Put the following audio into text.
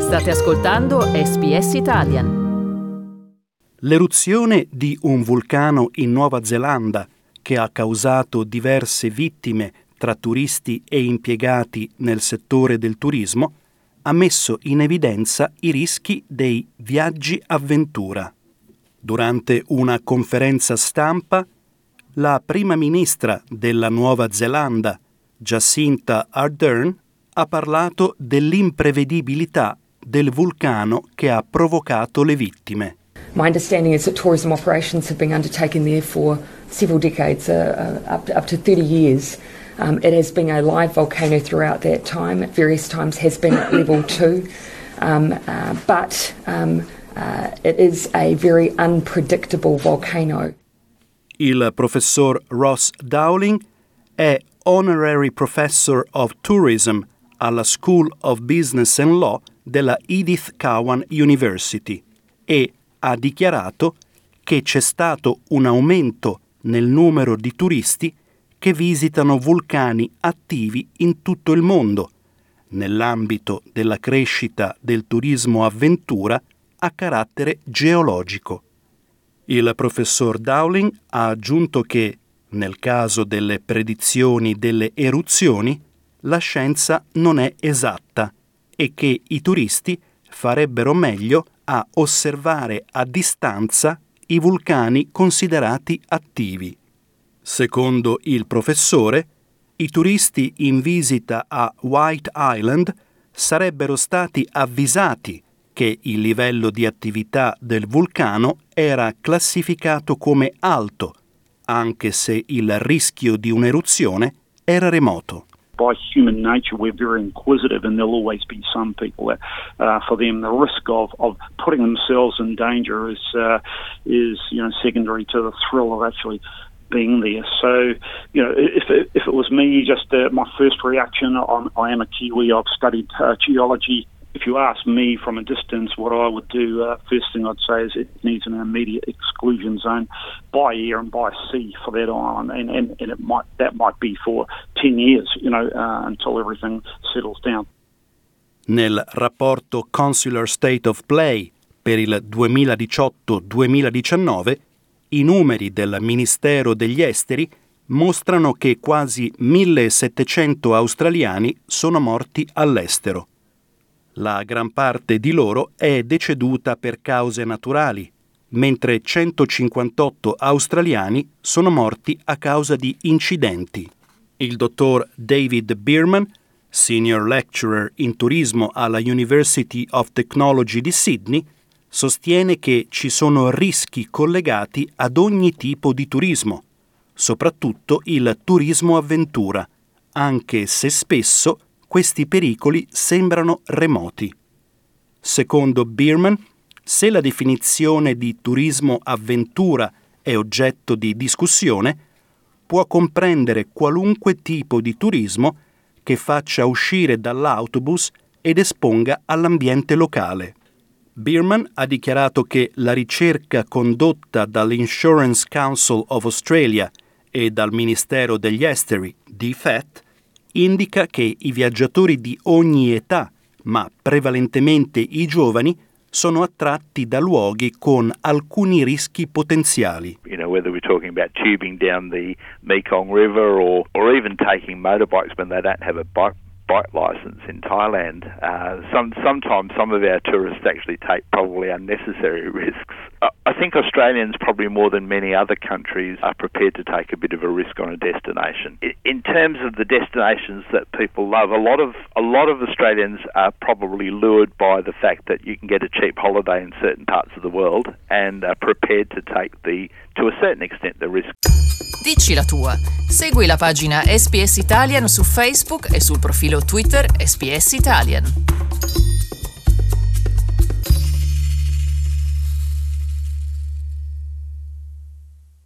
State ascoltando SBS Italian. L'eruzione di un vulcano in Nuova Zelanda, che ha causato diverse vittime tra turisti e impiegati nel settore del turismo, ha messo in evidenza i rischi dei viaggi avventura. Durante una conferenza stampa, la prima ministra della Nuova Zelanda, Jacinda Ardern, ha parlato dell'imprevedibilità del vulcano che ha provocato le vittime. My understanding is that tourism operations have been undertaken there for several decades, up to 30 years. It has been a live volcano throughout that time. At various times has been at level 2, but it is a very unpredictable volcano. Il professor Ross Dowling è Honorary Professor of Tourism alla School of Business and Law della Edith Cowan University e ha dichiarato che c'è stato un aumento nel numero di turisti che visitano vulcani attivi in tutto il mondo, nell'ambito della crescita del turismo avventura a carattere geologico. Il professor Dowling ha aggiunto che, nel caso delle predizioni delle eruzioni, la scienza non è esatta e che i turisti farebbero meglio a osservare a distanza i vulcani considerati attivi. Secondo il professore, i turisti in visita a White Island sarebbero stati avvisati che il livello di attività del vulcano era classificato come alto, anche se il rischio di un'eruzione era remoto. By human nature, we're very inquisitive, and there'll always be some people that, for them, the risk of putting themselves in danger is secondary to the thrill of actually being there. So, if it was me, just my first reaction, I am a Kiwi. I've studied geology. If you ask me from a distance what I would do, first thing I'd say is it needs an immediate exclusion zone by air and by sea for that island, and that might be for 10 years, until everything settles down. Nel rapporto Consular State of Play per il 2018-2019, i numeri del Ministero degli Esteri mostrano che quasi 1.700 australiani sono morti all'estero. La gran parte di loro è deceduta per cause naturali, mentre 158 australiani sono morti a causa di incidenti. Il dottor David Bierman, Senior Lecturer in turismo alla University of Technology di Sydney, sostiene che ci sono rischi collegati ad ogni tipo di turismo, soprattutto il turismo avventura, anche se spesso questi pericoli sembrano remoti. Secondo Bierman, se la definizione di turismo avventura è oggetto di discussione, può comprendere qualunque tipo di turismo che faccia uscire dall'autobus ed esponga all'ambiente locale. Bierman ha dichiarato che la ricerca condotta dall'Insurance Council of Australia e dal Ministero degli Esteri, DFAT, indica che i viaggiatori di ogni età, ma prevalentemente i giovani, sono attratti da luoghi con alcuni rischi potenziali. Whether we're talking about tubing down the Mekong River or even taking motorbikes when they don't have a bike license in Thailand. Sometimes some of our tourists actually take probably unnecessary risks. I think Australians, probably more than many other countries, are prepared to take a bit of a risk on a destination. In terms of the destinations that people love, a lot of Australians are probably lured by the fact that you can get a cheap holiday in certain parts of the world and are prepared to take to a certain extent, the risk. Dici la tua. Segui la pagina SBS Italian su Facebook e sul profilo Twitter SBS Italian.